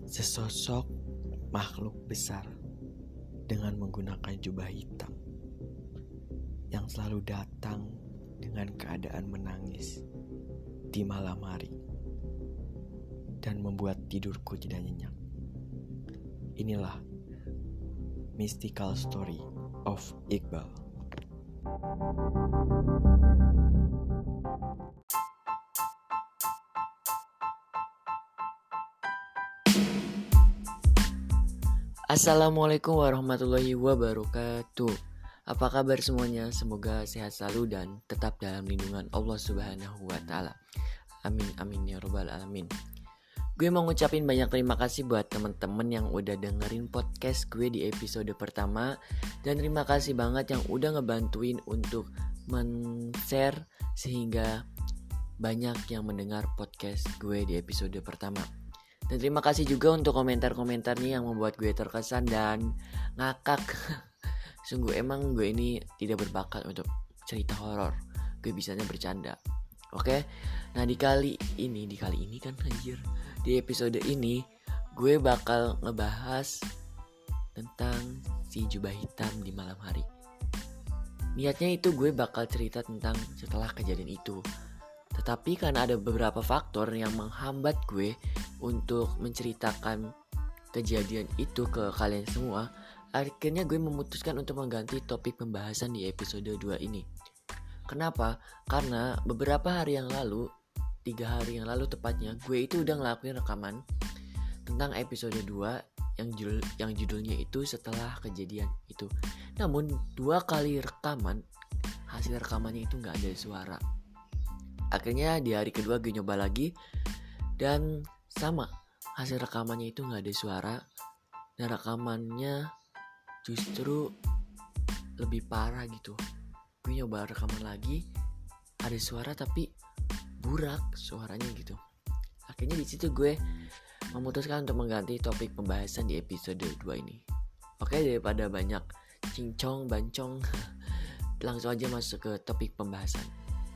Sesosok makhluk besar dengan menggunakan jubah hitam yang selalu datang dengan keadaan menangis di malam hari dan membuat tidurku tidak nyenyak. Inilah Mystical Story of Iqbal. Assalamualaikum warahmatullahi wabarakatuh. Apa kabar semuanya? Semoga sehat selalu dan tetap dalam lindungan Allah Subhanahu wa Ta'ala. Amin amin ya rabbal alamin. Gue mau ngucapin banyak terima kasih buat temen-temen yang udah dengerin podcast gue di episode pertama. Dan terima kasih banget yang udah ngebantuin untuk men-share sehingga banyak yang mendengar podcast gue di episode pertama. Dan terima kasih juga untuk komentar-komentarnya yang membuat gue terkesan dan ngakak. Sungguh emang gue ini tidak berbakat untuk cerita horor. Gue bisanya bercanda. Oke? Nah di kali ini kan anjir. Di episode ini gue bakal ngebahas tentang si jubah hitam di malam hari. Niatnya itu gue bakal cerita tentang setelah kejadian itu. Tetapi karena ada beberapa faktor yang menghambat gue untuk menceritakan kejadian itu ke kalian semua, akhirnya gue memutuskan untuk mengganti topik pembahasan di episode 2 ini. Kenapa? Karena beberapa hari yang lalu, 3 hari yang lalu tepatnya, gue itu udah ngelakuin rekaman tentang episode 2 yang judulnya itu setelah kejadian itu. Namun 2 kali rekaman, hasil rekamannya itu gak ada suara. Akhirnya di hari kedua gue nyoba lagi dan sama, hasil rekamannya itu gak ada suara. Dan rekamannya justru lebih parah gitu. Gue nyoba rekaman lagi, ada suara tapi burak suaranya gitu. Akhirnya di situ gue memutuskan untuk mengganti topik pembahasan di episode 2 ini. Oke, daripada banyak cincong bancong, langsung aja masuk ke topik pembahasan.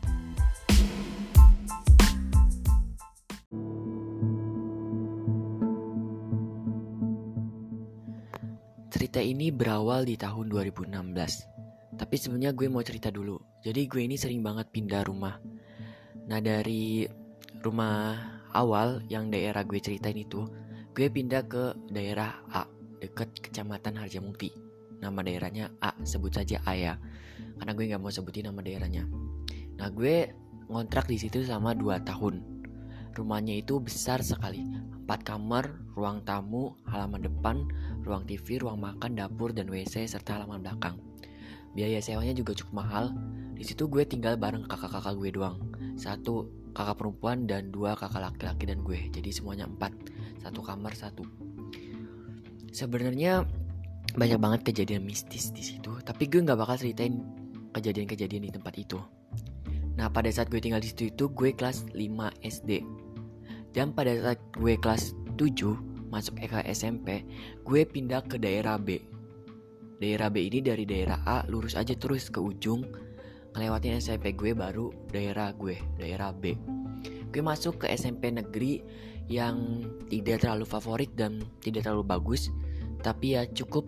Cerita ini berawal di tahun 2016. Tapi sebenarnya gue mau cerita dulu. Jadi gue ini sering banget pindah rumah. Nah dari rumah awal yang daerah gue ceritain itu, gue pindah ke daerah A, dekat Kecamatan Harjamukti. Nama daerahnya A, sebut saja A ya, karena gue gak mau sebutin nama daerahnya. Nah gue ngontrak di situ selama 2 tahun. Rumahnya itu besar sekali, 4 kamar, ruang tamu, halaman depan, ruang TV, ruang makan, dapur, dan WC, serta halaman belakang. Biaya sewanya juga cukup mahal. Di situ gue tinggal bareng kakak-kakak gue doang. 1 kakak perempuan dan 2 kakak laki-laki dan gue. Jadi semuanya 4, 1 kamar 1. Sebenarnya banyak banget kejadian mistis di situ, tapi gue nggak bakal ceritain kejadian-kejadian di tempat itu. Nah pada saat gue tinggal di situ itu gue kelas 5 SD. Dan pada saat gue kelas 7 masuk ke SMP, gue pindah ke daerah B. Daerah B ini dari daerah A lurus aja terus ke ujung, ngelewatin SMP gue baru daerah B. Gue masuk ke SMP negeri yang tidak terlalu favorit dan tidak terlalu bagus, tapi ya cukup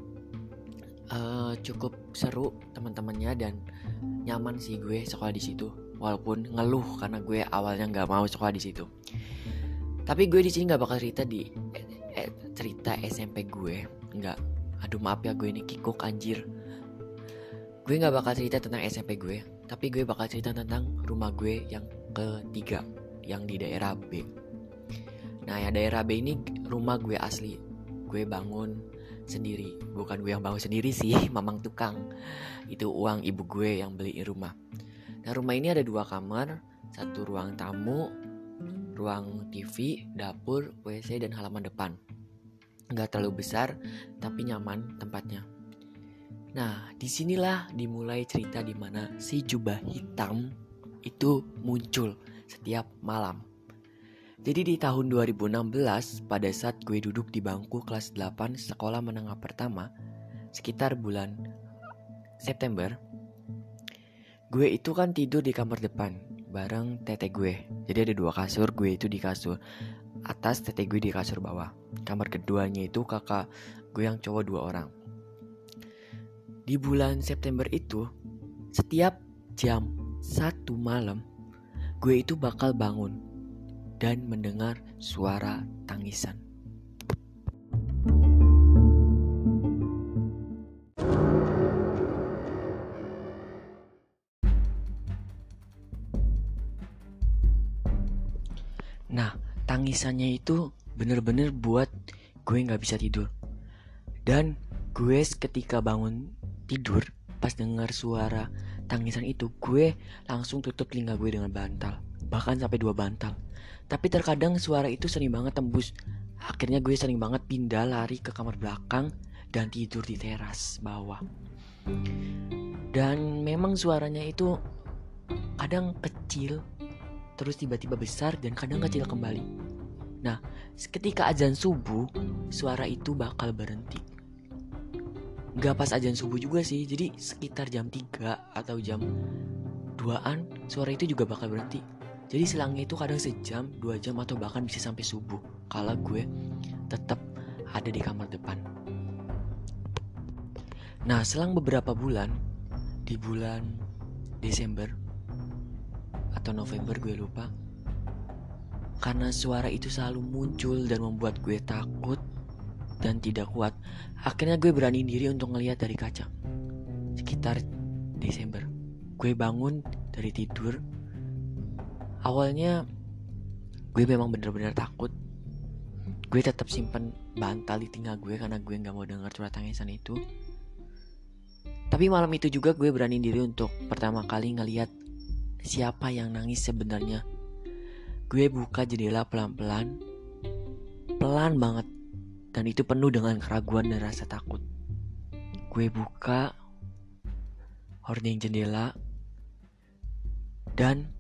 seru teman-temannya dan nyaman sih gue sekolah di situ. Walaupun ngeluh karena gue awalnya nggak mau sekolah di situ. Tapi gue di sini nggak bakal cerita cerita SMP gue, nggak. Aduh maaf ya gue ini kikuk anjir. Gue nggak bakal cerita tentang SMP gue, tapi gue bakal cerita tentang rumah gue yang ketiga, yang di daerah B. Nah ya daerah B ini rumah gue asli. Gue bangun sendiri, bukan gue yang bangun sendiri sih, mamang tukang. Itu uang ibu gue yang beliin rumah. Nah rumah ini ada 2 kamar, 1 ruang tamu, ruang TV, dapur, WC, dan halaman depan. Gak terlalu besar, tapi nyaman tempatnya. Nah, disinilah dimulai cerita di mana si jubah hitam itu muncul setiap malam. Jadi di tahun 2016, pada saat gue duduk di bangku kelas 8 sekolah menengah pertama, sekitar bulan September, gue itu kan tidur di kamar depan bareng tete gue. Jadi ada 2 kasur, gue itu di kasur atas, tete gue di kasur bawah. Kamar keduanya itu kakak gue yang cowok 2 orang. Di bulan September itu, setiap jam 1 malam, gue itu bakal bangun dan mendengar suara tangisan. Nah, tangisannya itu bener-bener buat gue gak bisa tidur. Dan gue ketika bangun tidur, pas dengar suara tangisan itu, gue langsung tutup telinga gue dengan bantal. Bahkan sampai 2 bantal. Tapi terkadang suara itu sering banget tembus. Akhirnya gue sering banget pindah lari ke kamar belakang dan tidur di teras bawah. Dan memang suaranya itu kadang kecil, terus tiba-tiba besar, dan kadang kecil kembali. Nah, ketika azan subuh, suara itu bakal berhenti. Gak pas azan subuh juga sih, jadi sekitar jam 3 atau jam 2an, suara itu juga bakal berhenti. Jadi selangnya itu kadang sejam, 2 jam, atau bahkan bisa sampai subuh kalau gue tetap ada di kamar depan. Nah, selang beberapa bulan, di bulan Desember atau November gue lupa, karena suara itu selalu muncul dan membuat gue takut dan tidak kuat, akhirnya gue berani diri untuk ngelihat dari kaca. Sekitar Desember, gue bangun dari tidur. Awalnya gue memang benar-benar takut. Gue tetap simpen bantal di telinga gue karena gue gak mau dengar suara tangisan itu. Tapi malam itu juga gue berani diri untuk pertama kali ngelihat siapa yang nangis sebenarnya. Gue buka jendela pelan-pelan, pelan banget, dan itu penuh dengan keraguan dan rasa takut. Gue buka hording jendela, dan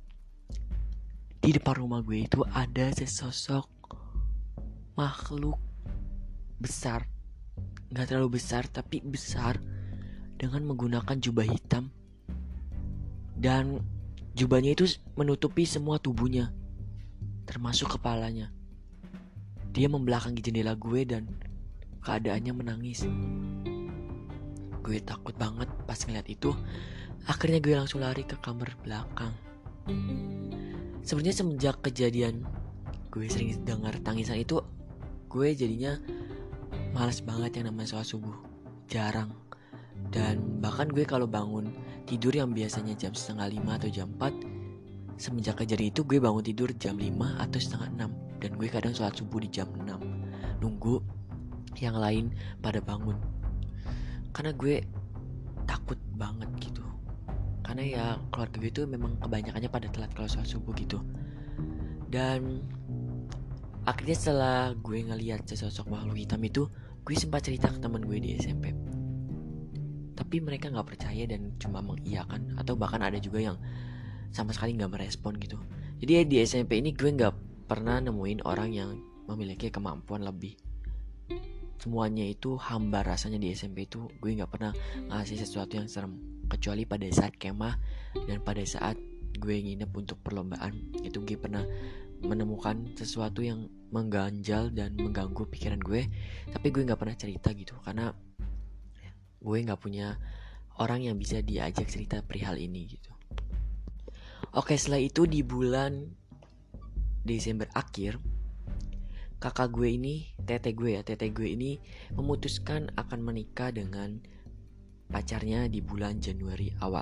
di depan rumah gue itu ada sesosok makhluk besar. Gak terlalu besar, tapi besar, dengan menggunakan jubah hitam. Dan jubahnya itu menutupi semua tubuhnya, termasuk kepalanya. Dia membelakangi jendela gue dan keadaannya menangis. Gue takut banget pas ngeliat itu. Akhirnya gue langsung lari ke kamar belakang. Sebenarnya semenjak kejadian gue sering dengar tangisan itu, gue jadinya malas banget yang namanya sholat subuh. Jarang. Dan bahkan gue kalau bangun tidur yang biasanya jam 4:30 atau jam 4, semenjak kejadian itu gue bangun tidur jam 5 atau 5:30. Dan gue kadang sholat subuh di jam 6, nunggu yang lain pada bangun. Karena gue takut banget gitu. Karena ya keluarga gue itu memang kebanyakannya pada telat kalau sholat subuh gitu. Dan akhirnya setelah gue ngelihat sesosok makhluk hitam itu, gue sempat cerita ke teman gue di SMP. Tapi mereka gak percaya dan cuma mengiyakan, atau bahkan ada juga yang sama sekali gak merespon gitu. Jadi di SMP ini gue gak pernah nemuin orang yang memiliki kemampuan lebih. Semuanya itu hambar rasanya di SMP itu. Gue gak pernah ngasih sesuatu yang serem, kecuali pada saat kemah dan pada saat gue nginep untuk perlombaan. Itu gue pernah menemukan sesuatu yang mengganjal dan mengganggu pikiran gue. Tapi gue gak pernah cerita gitu, karena gue gak punya orang yang bisa diajak cerita perihal ini gitu. Oke, setelah itu di bulan Desember akhir, kakak gue ini, tete gue ini memutuskan akan menikah dengan pacarnya di bulan Januari awal.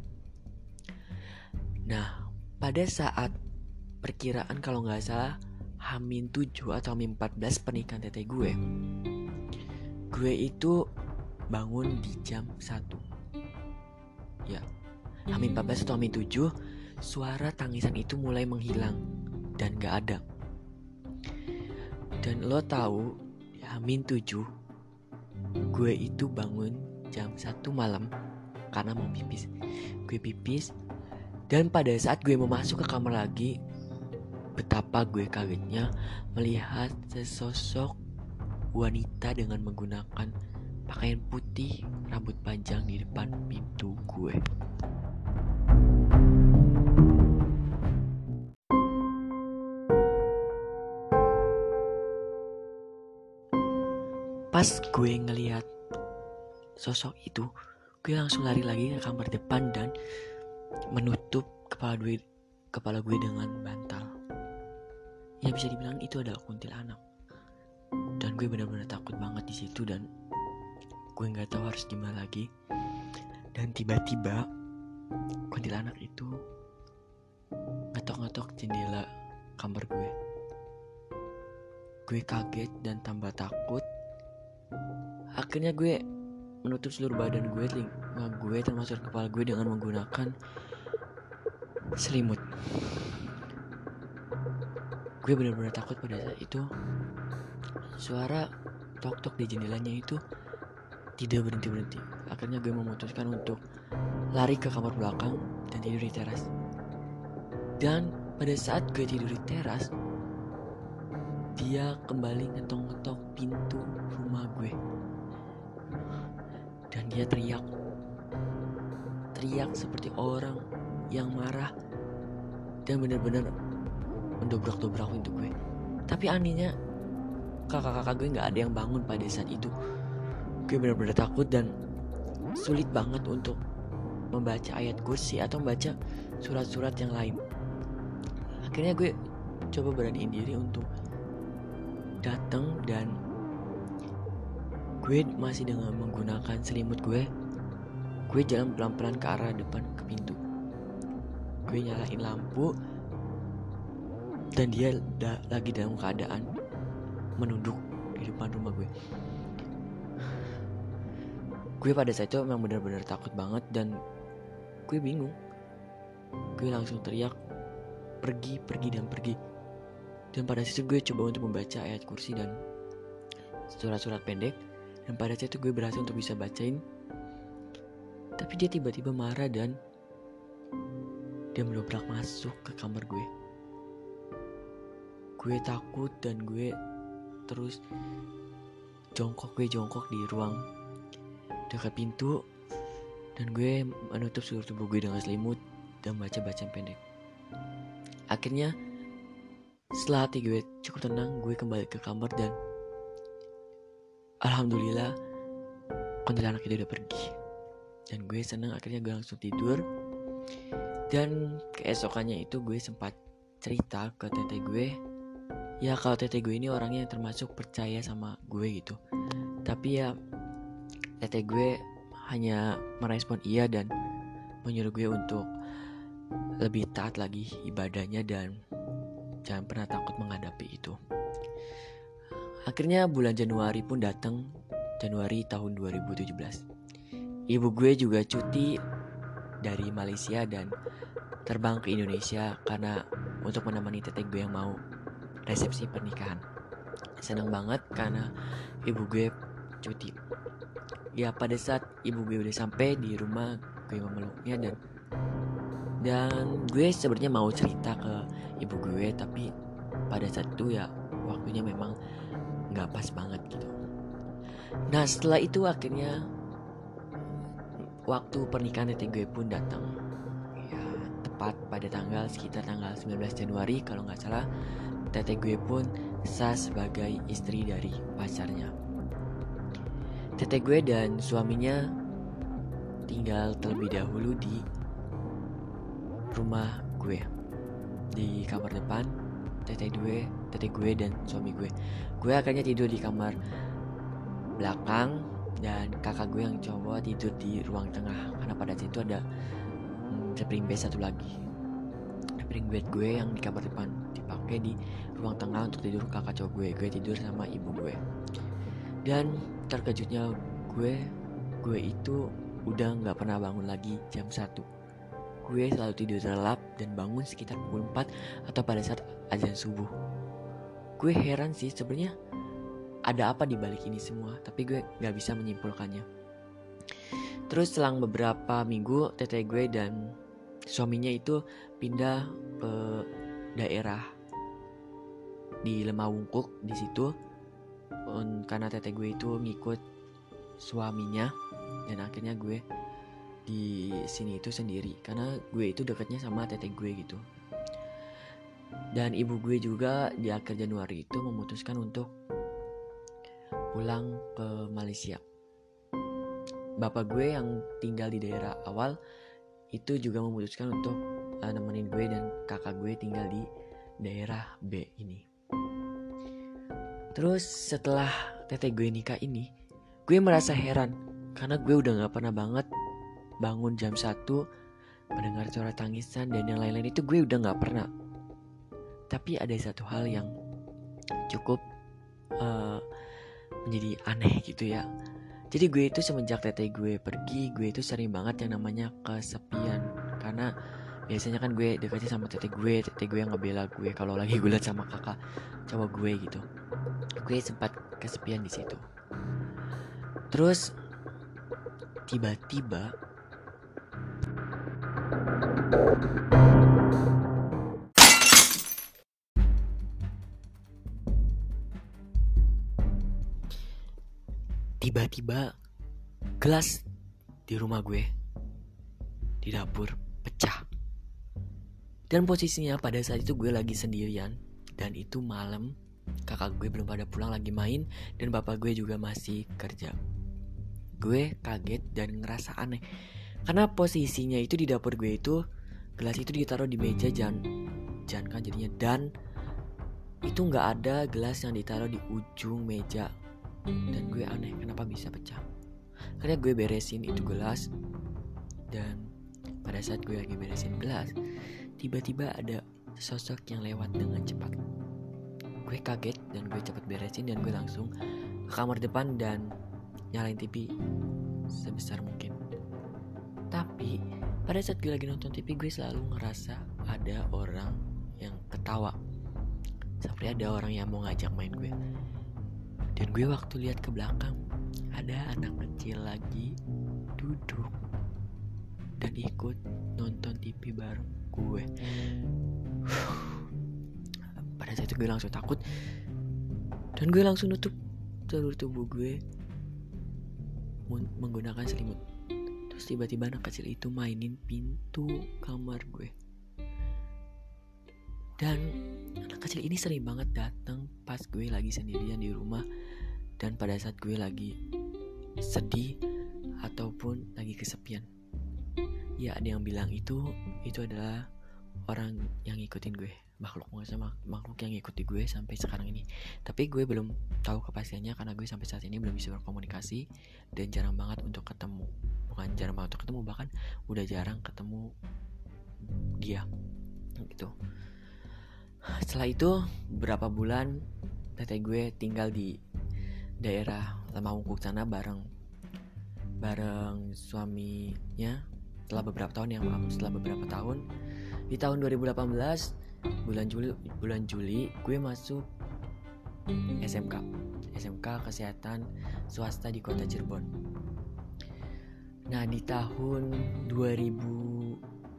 Nah, pada saat perkiraan kalau gak salah H-7 atau H-14 pernikahan tete gue itu bangun di jam 1. Ya, H-14 atau H-7, suara tangisan itu mulai menghilang dan gak ada. Dan lo tahu, H-7 gue itu bangun jam 1 malam karena mau pipis. Gue pipis, dan pada saat gue mau masuk ke kamar lagi, betapa gue kagetnya melihat sesosok wanita dengan menggunakan pakaian putih, rambut panjang di depan pintu gue. Pas gue ngelihat sosok itu, gue langsung lari lagi ke kamar depan dan menutup kepala gue dengan bantal. Ya bisa dibilang itu adalah kuntilanak. Dan gue benar-benar takut banget di situ dan gue nggak tahu harus gimana lagi. Dan tiba-tiba kuntilanak itu ngetok-ngetok jendela kamar gue. Gue kaget dan tambah takut. Akhirnya gue menutup seluruh badan gue, telinga gue termasuk kepala gue dengan menggunakan selimut. Gue benar-benar takut pada saat itu. Suara tok-tok di jendelanya itu tidak berhenti-berhenti. Akhirnya gue memutuskan untuk lari ke kamar belakang dan tidur di teras. Dan pada saat gue tidur di teras, dia kembali ngetok-ngetok pintu rumah gue. Dan dia teriak seperti orang yang marah dan benar-benar mendobrak-dobrak pintu gue. Tapi anehnya kakak-kakak gue gak ada yang bangun pada saat itu. Gue benar-benar takut dan sulit banget untuk membaca ayat kursi atau membaca surat-surat yang lain. Akhirnya gue coba beraniin diri untuk datang dan gue masih dengan menggunakan selimut gue jalan pelan-pelan ke arah depan ke pintu. Gue nyalain lampu dan dia lagi dalam keadaan menunduk di depan rumah gue. Gue pada saat itu memang benar-benar takut banget dan gue bingung. Gue langsung teriak, pergi. Dan pada saat itu gue coba untuk membaca ayat kursi dan surat-surat pendek. Dan pada saat itu gue berhasil untuk bisa bacain. Tapi dia tiba-tiba marah dan dia mendobrak masuk ke kamar gue. Gue takut dan gue terus jongkok di ruang dekat pintu. Dan gue menutup seluruh tubuh gue dengan selimut dan baca bacaan pendek. Akhirnya setelah hati gue cukup tenang, gue kembali ke kamar dan alhamdulillah kuntilanak itu udah pergi. Dan gue senang, akhirnya gue langsung tidur. Dan keesokannya itu gue sempat cerita ke teteh gue. Ya kalau teteh gue ini orangnya yang termasuk percaya sama gue gitu. Tapi ya teteh gue hanya merespon iya dan menyuruh gue untuk lebih taat lagi ibadahnya dan jangan pernah takut menghadapi itu. Akhirnya bulan Januari pun datang, Januari tahun 2017. Ibu gue juga cuti dari Malaysia dan terbang ke Indonesia karena untuk menemani teteh gue yang mau resepsi pernikahan. Senang banget karena ibu gue cuti. Ya pada saat ibu gue udah sampai di rumah, gue memeluknya dan gue sebenarnya mau cerita ke ibu gue, tapi pada saat itu ya waktunya memang nggak pas banget gitu. Nah setelah itu akhirnya waktu pernikahan teteh gue pun datang. Ya tepat pada sekitar tanggal 19 Januari kalau nggak salah. Teteh gue pun sah sebagai istri dari pacarnya. Teteh gue dan suaminya tinggal terlebih dahulu di rumah gue, di kamar depan. Teteh gue dan suami gue. Gue akhirnya tidur di kamar belakang dan kakak gue yang cowok tidur di ruang tengah karena pada situ ada spring bed satu lagi. Spring bed gue yang di kamar depan dipakai di ruang tengah untuk tidur kakak cowok gue. Gue tidur sama ibu gue. Dan terkejutnya gue itu udah gak pernah bangun lagi jam 1. Gue selalu tidur terlelap dan bangun sekitar pukul 4 atau pada saat azan subuh. Gue heran sih sebenarnya ada apa di balik ini semua, tapi gue gak bisa menyimpulkannya. Terus selang beberapa minggu teteh gue dan suaminya itu pindah ke daerah di Lemawungkuk di situ karena teteh gue itu ngikut suaminya dan akhirnya gue di sini itu sendiri karena gue itu dekatnya sama teteh gue gitu. Dan ibu gue juga di akhir Januari itu memutuskan untuk pulang ke Malaysia. Bapak gue yang tinggal di daerah awal itu juga memutuskan untuk nemenin gue dan kakak gue tinggal di daerah B ini. Terus setelah tete gue nikah ini, gue merasa heran karena gue udah gak pernah banget bangun jam 1 mendengar suara tangisan dan yang lain-lain itu gue udah gak pernah. Tapi ada satu hal yang cukup menjadi aneh gitu ya. Jadi gue itu semenjak tete gue pergi, gue itu sering banget yang namanya kesepian. Karena biasanya kan gue dekatnya sama tete gue yang ngebela gue kalau lagi gue liat sama kakak cowok gue gitu. Gue sempat kesepian di situ. Terus tiba-tiba gelas di rumah gue di dapur pecah. Dan posisinya pada saat itu gue lagi sendirian dan itu malam, kakak gue belum pada pulang lagi main dan bapak gue juga masih kerja. Gue kaget dan ngerasa aneh karena posisinya itu di dapur gue itu gelas itu ditaruh di meja jangan kan jadinya, dan itu nggak ada gelas yang ditaruh di ujung meja. Dan gue aneh kenapa bisa pecah. Karena gue beresin itu gelas, dan pada saat gue lagi beresin gelas, tiba-tiba ada sosok yang lewat dengan cepat. Gue kaget dan gue cepat beresin dan gue langsung ke kamar depan dan nyalain TV sebesar mungkin. Tapi pada saat gue lagi nonton TV, gue selalu ngerasa ada orang yang ketawa, seperti ada orang yang mau ngajak main gue. Dan gue waktu lihat ke belakang, ada anak kecil lagi duduk dan ikut nonton TV bareng gue. Pada saat itu gue langsung takut dan gue langsung nutup seluruh tubuh gue menggunakan selimut. Terus tiba-tiba anak kecil itu mainin pintu kamar gue. Dan anak kecil ini sering banget datang pas gue lagi sendirian di rumah dan pada saat gue lagi sedih ataupun lagi kesepian. Ya ada yang bilang itu adalah orang yang ngikutin gue, makhluk yang ngikuti gue sampai sekarang ini. Tapi gue belum tahu kepastiannya karena gue sampai saat ini belum bisa berkomunikasi dan jarang banget untuk ketemu. Bukan jarang banget untuk ketemu, bahkan udah jarang ketemu dia gitu. Setelah itu beberapa bulan tete gue tinggal di daerah Lemahungkuk sana bareng suaminya. Setelah beberapa tahun di tahun 2018 bulan Juli gue masuk SMK Kesehatan swasta di kota Cirebon. Nah di tahun 2019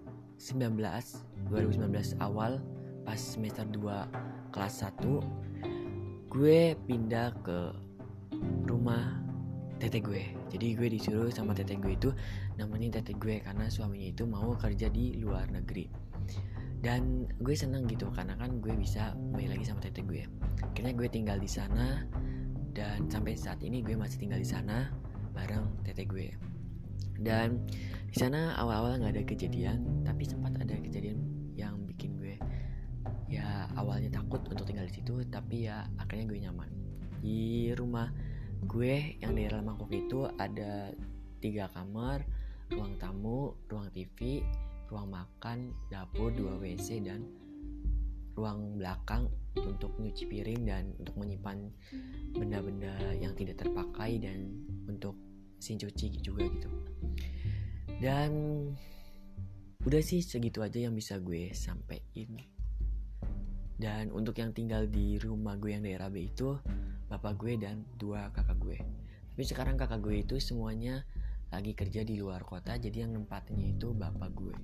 awal pas semester 2 kelas 1 gue pindah ke rumah tete gue. Jadi gue disuruh sama tete gue itu nemenin tete gue karena suaminya itu mau kerja di luar negeri. Dan gue seneng gitu karena kan gue bisa kembali lagi sama tete gue. Akhirnya gue tinggal di sana dan sampai saat ini gue masih tinggal di sana bareng tete gue. Dan di sana awal-awal nggak ada kejadian, tapi sempat ada kejadian yang bikin gue ya awalnya takut untuk tinggal di situ, tapi ya akhirnya gue nyaman. Di rumah gue yang daerah Mangkok itu ada 3 kamar, ruang tamu, ruang TV, ruang makan, dapur, 2 WC, dan ruang belakang untuk nyuci piring dan untuk menyimpan benda-benda yang tidak terpakai dan untuk mesin cuci juga gitu. Dan udah sih segitu aja yang bisa gue sampein. Dan untuk yang tinggal di rumah gue yang daerah B itu bapak gue dan 2 kakak gue. Tapi sekarang kakak gue itu semuanya lagi kerja di luar kota, jadi yang nempatinnya itu bapak gue.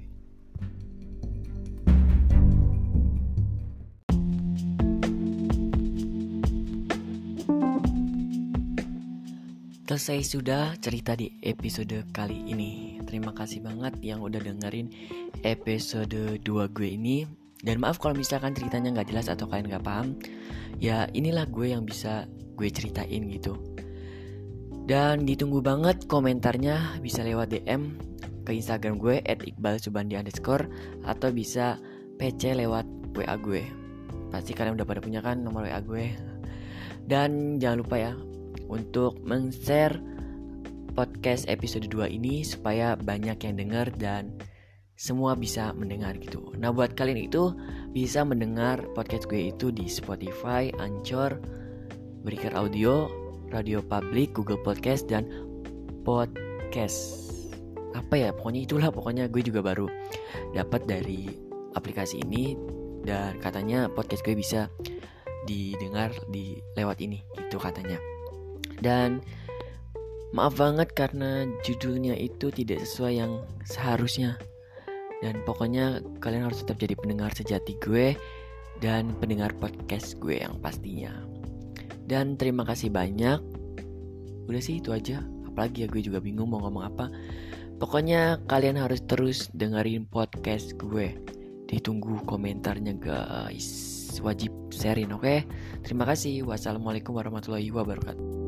Selesai sudah cerita di episode kali ini. Terima kasih banget yang udah dengerin episode 2 gue ini. Dan maaf kalau misalkan ceritanya gak jelas atau kalian gak paham. Ya inilah gue yang bisa gue ceritain gitu. Dan ditunggu banget komentarnya, bisa lewat DM ke Instagram gue @iqbalsubandi_ atau bisa PC lewat WA gue. Pasti kalian udah pada punya kan nomor WA gue. Dan jangan lupa ya untuk men-share podcast episode 2 ini supaya banyak yang dengar dan semua bisa mendengar gitu. Nah buat kalian itu bisa mendengar podcast gue itu di Spotify, Anchor, Breaker Audio, Radio Public, Google Podcast, dan Podcast. Pokoknya gue juga baru dapat dari aplikasi ini. Dan katanya podcast gue bisa didengar lewat ini gitu katanya. Dan maaf banget karena judulnya itu tidak sesuai yang seharusnya. Dan pokoknya kalian harus tetap jadi pendengar sejati gue dan pendengar podcast gue yang pastinya. Dan terima kasih banyak. Udah sih itu aja. Apalagi ya, gue juga bingung mau ngomong apa. Pokoknya kalian harus terus dengerin podcast gue. Ditunggu komentarnya guys. Wajib sharein, oke? Terima kasih. Wassalamualaikum warahmatullahi wabarakatuh.